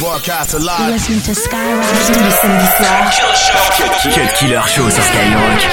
Broadcast alive. You're listening to Skyrock. Tous les samedis soirs. Cut Killer Show sur Skyrock.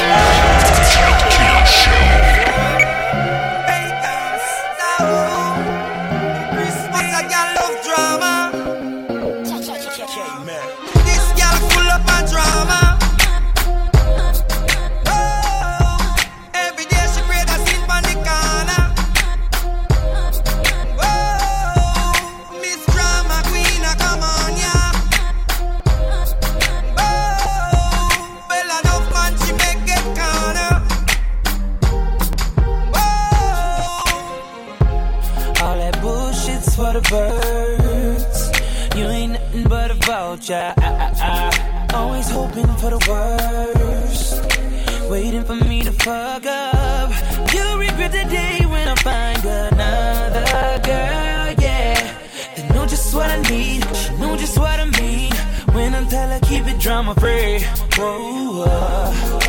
Always hoping for the worst, waiting for me to fuck up. You regret the day when I find another girl, yeah. They know just what I need, she know just what I mean. When I tell her keep it drama free. Whoa,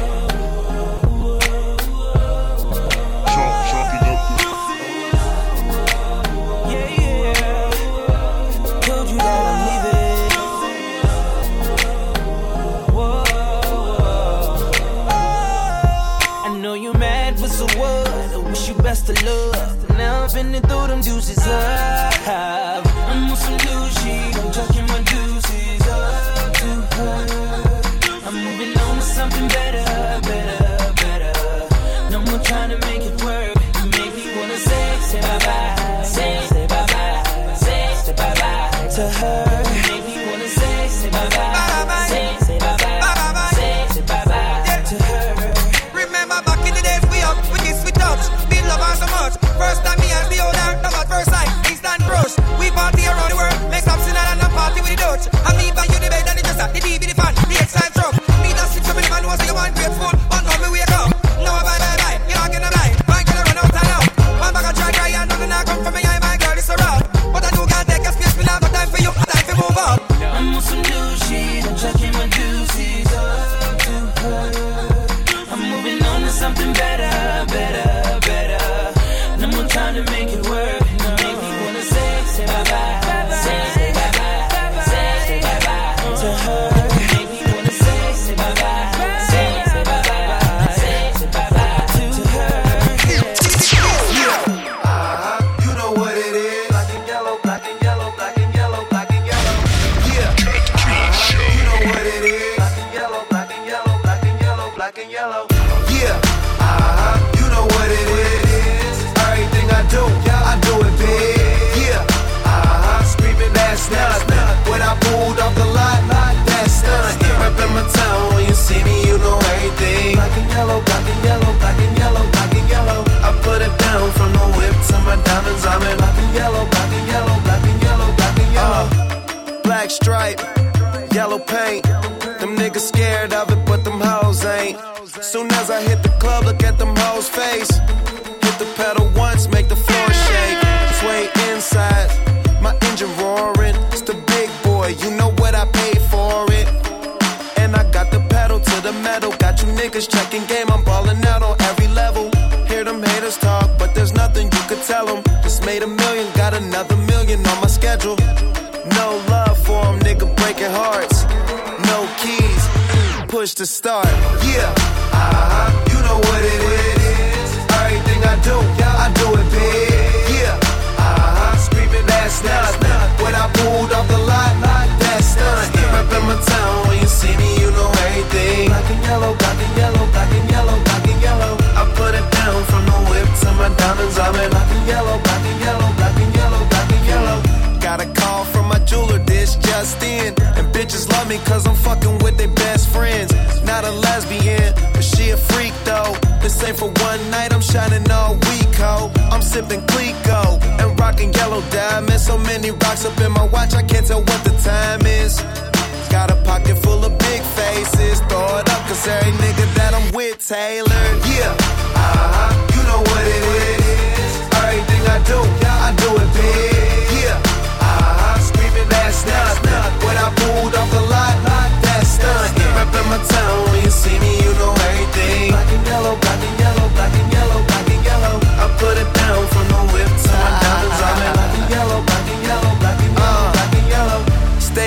best of love. Now I've been through them juices up. I'm on some new shit. I'm chucking my juices up to her. I'm moving on to something better, better, better. No more trying to make it work. You make me wanna say bye bye, say bye bye, say bye bye to her. You make me wanna say bye bye, say bye bye, say bye bye to her. Remember back in the days we kiss, we touch. Love her so much. First time me and the owner, love at first sight, instant brush. We party around the world, make some sin and a party with the Dutch. And me buy you the bed and the dresser, the TV, the fan, the X-Time truck. Me that sleep so many man know say you want grateful, but now me wake up. Now I bye, you're not gonna lie. My girl run out and out. One bag of try and nothing not come from me, I my girl is a rock. But I do can't take a space, me now got time for you, time to move up. I'm on some new shit, I'm checking my juices up to her. I'm moving on to something better, better. Trying to make it work, make me wanna say bye bye, say bye bye, say bye bye to her. Make me wanna say bye bye, say bye bye, say bye bye to her. You know what it is. Black and yellow, black and yellow, black and yellow, black and yellow. Yeah. You know what it is. Black and yellow, black and yellow, black and yellow, black and yellow. Yeah. You know what it is. I do it big, yeah, screaming that's nothing. When I pulled off the lot, that's nothing. Reppin' my town, when you see me, you know everything. Black and yellow, black and yellow, black and yellow, black and yellow. I put it down from the whip to my diamonds, I'm in black and yellow, black and yellow, black and yellow, black and yellow. Black stripe, yellow paint. Them niggas scared of it, but them hoes ain't. Soon as I hit the club, look at them hoes' face. Hit the pedal once, make the floor shake. Sway inside, my engine roaring. It's the big boy, you know what I paid for it. And I got the pedal to the metal. Got you niggas checking game, I'm ballin' out on every level. Hear them haters talk, but there's nothing you could tell them. Just made $1 million, got another $1 million on my schedule. No love for them, nigga breaking hearts. No keys, push to start. Yeah, you know what it is. Everything I do it big. Yeah, screaming that's nothing. When I pulled off the lot, that's nothing. Reppin' my town, when you see me, you know everything. Black and yellow, black and yellow, black and yellow, black and yellow. I put it down from the whip to my diamonds, I'm in black and yellow, black and yellow, black and yellow, black and yellow. Got a call from my jeweler, this just in. And bitches love me cause I'm fucking with their best friends. Not a lesbian, but she a freak though. This ain't for one night, I'm shining all week, ho. I'm sipping Clico and rocking yellow diamonds. So many rocks up in my watch, I can't tell what the time is. Got a pocket full of big faces. Throw it up, cause every nigga that I'm with tailored. Yeah, you know what it is. Everything I do it big. Yeah, screaming that's nothing. When I pulled off the lot, that's nothing. Reppin' my town, when you see me, you know everything. Black and yellow, black and yellow, black and yellow, black and yellow. I put it down from the whip to my diamonds, I'm in black and yellow, black and yellow, black and yellow, black and yellow.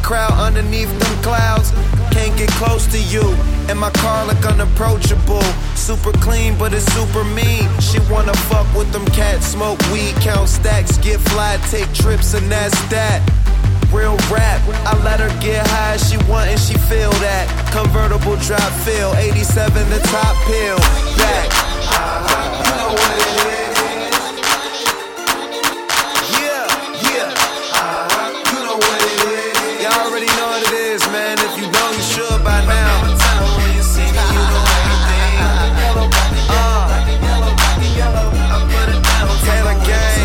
crowd underneath them clouds. Can't get close to you, and my car look unapproachable. Super clean, but it's super mean. She wanna fuck with them cats, smoke weed, count stacks, get fly, take trips, and that's that. Real rap, I let her get high, she want and she feel that. Convertible drop feel, 87 the top pill, back. You know what it is. Yeah, yeah. You know what it is. Y'all already know what it is, man. If you know, you should by now. Taylor Gang.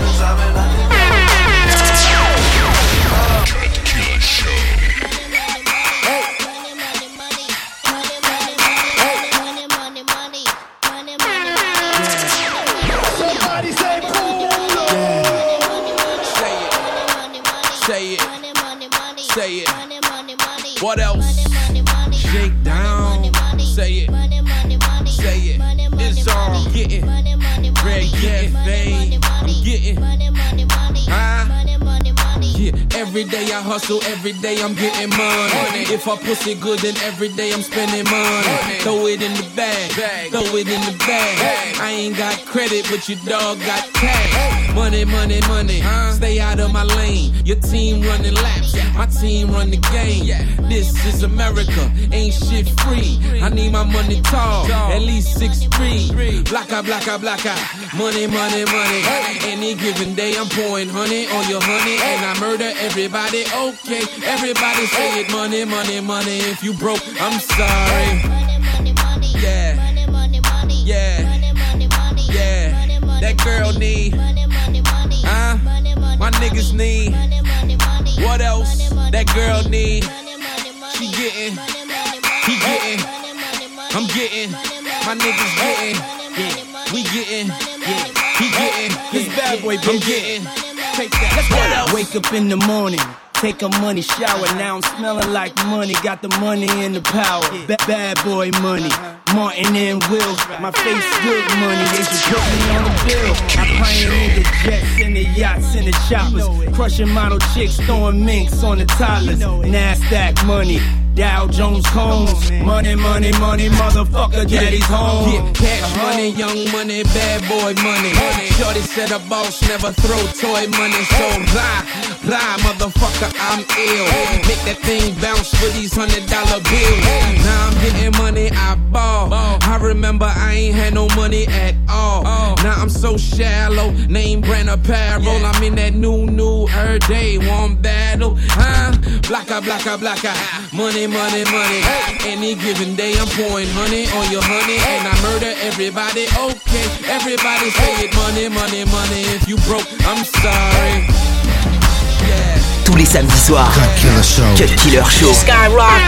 Say it. What else? Shake down. Say it. Say it. It's all getting. Red getting fame. I'm getting. Yeah, every day I hustle, every day I'm getting money. If I pussy good, then every day I'm spending money. Throw it in the bag, throw it in the bag. I ain't got credit, but your dog got cash. Money, money, money. Stay out of my lane. Your team running laps, my team run the game. This is America, ain't shit free. I need my money tall, at least 6'3". Blacka, blacka, blacka. Money, money, money. Any given day I'm pouring honey on your honey, and I murder everybody. Okay, everybody say it. Money, money, money. If you broke, I'm sorry. Yeah, yeah, yeah. That girl need, my niggas need. What else? That girl need. She getting, he getting, I'm getting, my niggas getting, we getting, he getting, this bad boy, I'm getting. Take that. What else? Wake up in the morning, take a money shower. Now I'm smelling like money, got the money and the power. Bad boy money, Martin and Will. My face good money, they should put me on the bill. I pioneer the jets and the yachts and the choppers, crushing model chicks, throwing minks on the toddlers. NASDAQ money, Dow Jones Combs. Money, money, money, motherfucker, daddy's home. Yeah, cash money, young money, bad boy money. Shorty said a boss never throw toy money, so rah, motherfucker, I'm ill. Make that thing bounce for these $100 bills. Now I'm getting money, I ball. I remember I ain't had no money at all. Now I'm so shallow, name brand apparel. I'm in that new every day, one battle. Blacka, blacka, blacka. Money, money, money. Any given day I'm pouring honey on your honey, and I murder everybody. Okay, everybody say it. Money, money, money. If you broke, I'm sorry. Yeah. Tous les samedis soirs, Cut Killer Show. Skyrock.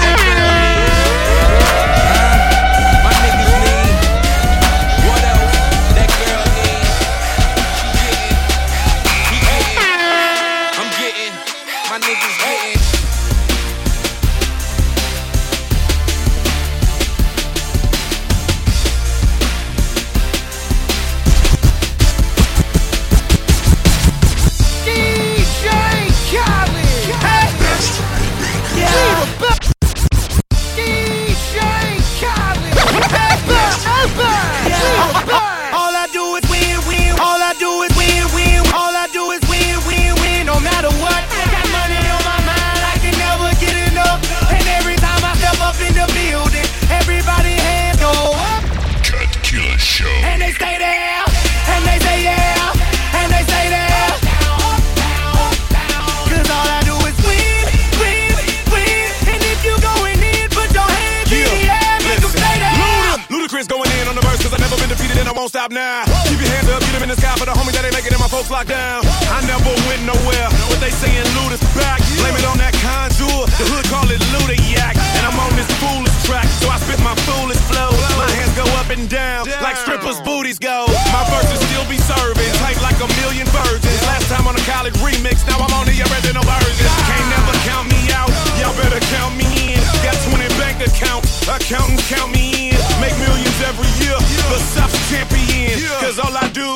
Stop now. Keep your hands up, get them in the sky for the homies that ain't making it, my folks locked down. I never went nowhere. What they saying, loot is back. Blame it on that contour. The hood call it Ludiac. And I'm on this foolish track, so I spit my foolish flow. My hands go up and down like strippers' booties go. My verses still be serving, tight like a million virgins. Last time on a college remix, now I'm on the original version. Can't never count me out, y'all better count me in. Got 20 bank accounts, accountants count me in. Make millions every year, the South's champion. Cause all I do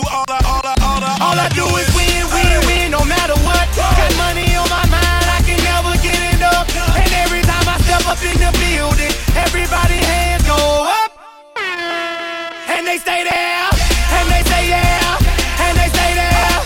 is win, win, win, no matter what. Got money on my mind, I can never get enough. the building, everybody hands go up. And they stay there, and they say yeah, and they stay there.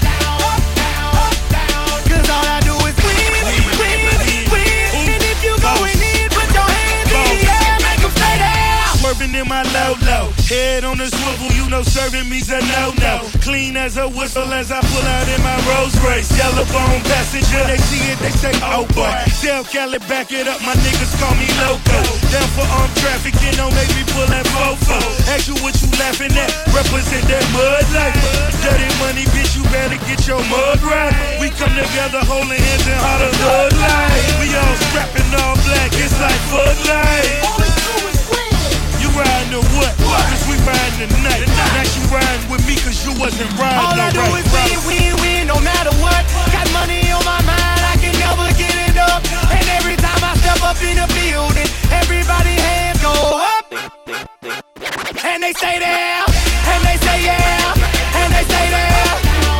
Cause all I do is win, win, win. And if you going in, put your hands in the air, make them stay there. Swerving in my low, head on the swivel, you know serving me's a no-no. Clean as a whistle as I pull out in my Rolls Royce. Yellow bone passenger, they see it, they say, oh boy. Tell Cali, back it up, my niggas call me loco. Down for armed trafficking, don't make me pull that fofo. Ask you what you laughing at, represent that mud life. Dirty money, bitch, you better get your mud right. We come together holding hands and heart of thug life. We all strapping all black, it's like Bud Light. You riding or what? Cause we riding tonight. Now she riding with me cause you wasn't riding. All I do is win, win, win, no matter what. Got money on my mind, I can never get it up. And every time I step up in the building, everybody hands go up. And they stay there, and they say yeah, and they stay there.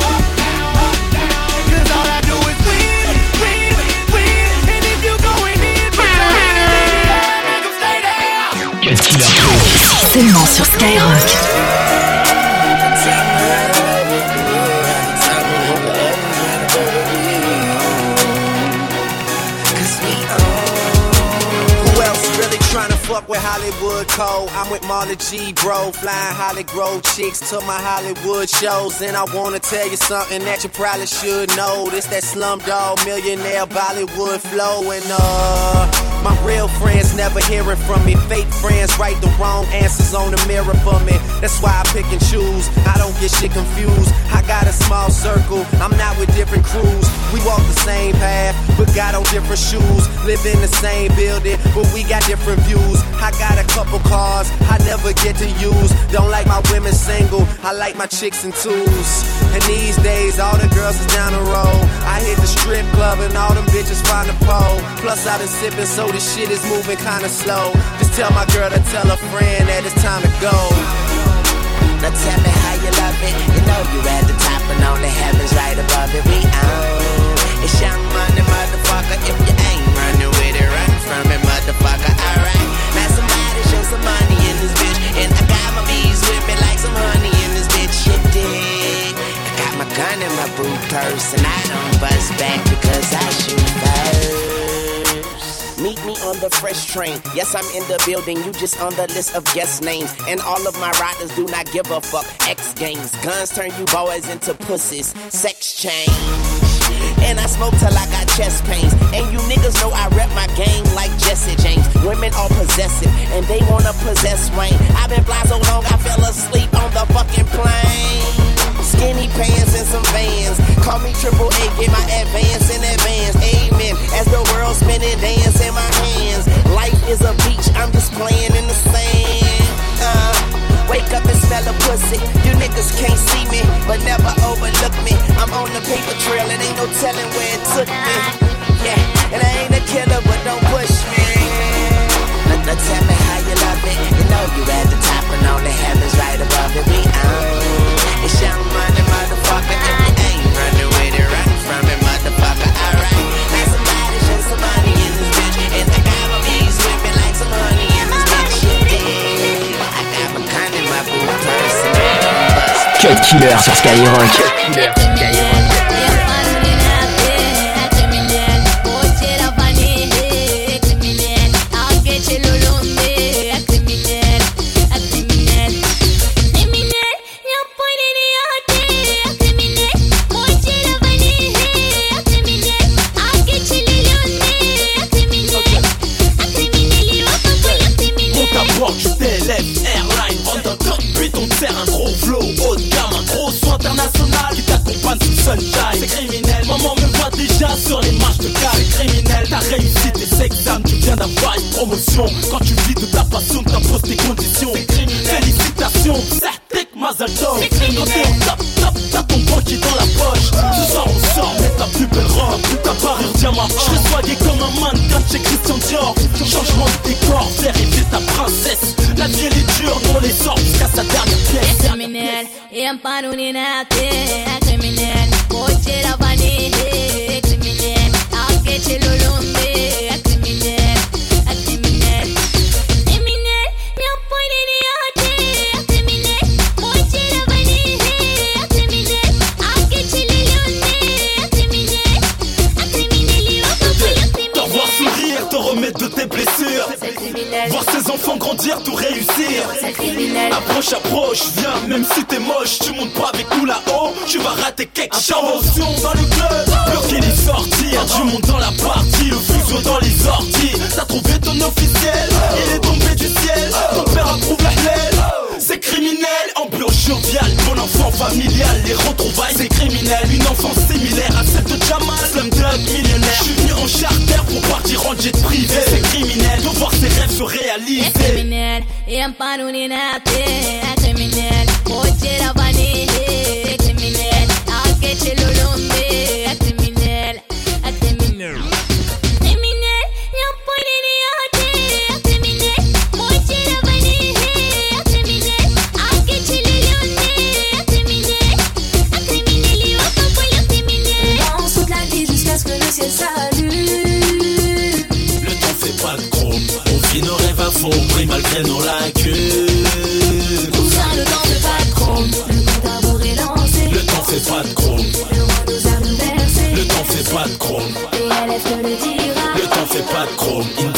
Cause all I do is win, win, win. And if you going in, put your hands in the air, make them stay there. Cut Killer Show. Seulement sur Skyrock. Fuck with Hollywood Code, I'm with Marla G, bro. Flying Holly Grove chicks to my Hollywood shows. And I wanna tell you something that you probably should know. This that Slumdog Millionaire Bollywood flow. And my real friends never hearing from me. Fake friends write the wrong answers on the mirror for me. That's why I pick and choose, I don't get shit confused. I got a small circle, I'm not with different crews. We walk the same path, but got on different shoes. Live in the same building, but we got different views. I got a couple cars I never get to use. Don't like my women single, I like my chicks in twos. And these days all the girls is down the road. I hit the strip club and all them bitches find a pole. Plus I been sipping so this shit is moving kinda slow. Just tell my girl to tell a friend that it's time to go. Now tell me how you love it. You know you at the top and all the heavens right above it. We own it's Young Money, motherfucker. If you ain't running with it, run from it, motherfucker. Alright, now somebody show some money in this bitch. And I got my bees with me like some honey in this bitch. You dig? I got my gun in my boot purse and I don't bust back because I shoot first. Meet me on the fresh train. Yes, I'm in the building. You just on the list of guest names. And all of my riders do not give a fuck. X Games. Guns turn you boys into pussies. Sex change. And I smoke till I got chest pains. And you niggas know I rep my game like Jesse James. Women are possessive and they wanna possess Wayne. I've been fly so long I fell asleep on the fucking plane. Skinny pants and some Vans. Call me Triple A, get my advance in advance. Amen. As the world spinning, dance in my hands. Life is a beach, I'm just playing in the sand. Wake up and smell a pussy. You niggas can't see me, but never overlook me. I'm on the paper trail, and ain't no telling where it took me. Yeah, and I ain't a killer, but don't push me. Now tell me how you love it. You know you at the top and all the heavens right above it. We own it's Young Money, motherfucker. If you ain't running with it, run from it, motherfucker. Alright, now somebody show some money in this bitch. And I got my bees with me like some honey in this bitch. You dig? I got my gun in my boot purse. Cut Killer sur Skyrock. Cut Killer sur Skyrock. C'est criminel, maman me voit déjà sur les marches de cave. C'est criminel, t'as réussi tes examens, tu viens d'avoir une promotion. Quand tu vis de ta passion, t'imposes tes conditions. C'est criminel, félicitations, certic Mazel Tov. C'est criminel, quand t'es au top, top, t'as ton banquier dans la poche. Ce soir on sort, mets ta plus belle robe, ta parure diamant. Je serai soigné comme un mannequin chez Christian Dior. Changement de décor, faire rêver ta princesse. La vie elle est dure, on les sort jusqu'à sa dernière pièce. C'est criminel, et un panouni n'a pas criminel. Moitié la vanille, criminel. Arrête le lombe, criminel, criminel. réussir. C'est criminel. Approche, viens, même si t'es moche, tu montes pas avec nous là-haut, tu vas rater quelque chose. Intervention dans le club, bloquer les sorties, du monde dans la partie, le fuseau dans les orties. T'as trouvé ton officiel, il est tombé du ciel, ton père approuve la halal. C'est criminel, ambiance joviale, bon enfant familial, les retrouvailles c'est criminel. Une enfance similaire à celle de Jamal, Slumdog millionnaire. Je suis venu en charter pour partir en jet privé. C'est criminel de voir ses rêves se réaliser. C'est criminel, et un panoninate. C'est criminel, moitié la vanille. C'est criminel, akeche lolombe. C'est criminel, c'est criminel. Criminel, et un panoninate. C'est criminel, moitié la vanille. C'est criminel, akeche lolombe. C'est criminel, c'est criminel. Et on t'envoie le criminel. Danse toute la vie jusqu'à ce que le ciel s'allume. Le temps fait pas de chrome, on vit nos rêves à fond, brille malgré nos lacunes. Tout ça, le temps fait pas de chrome. Le compte à rebours est lancé. Le temps fait pas de chrome. Le roi nous a bouleversé. Le temps fait pas de chrome. Et LF te le dira. Le temps fait pas de chrome.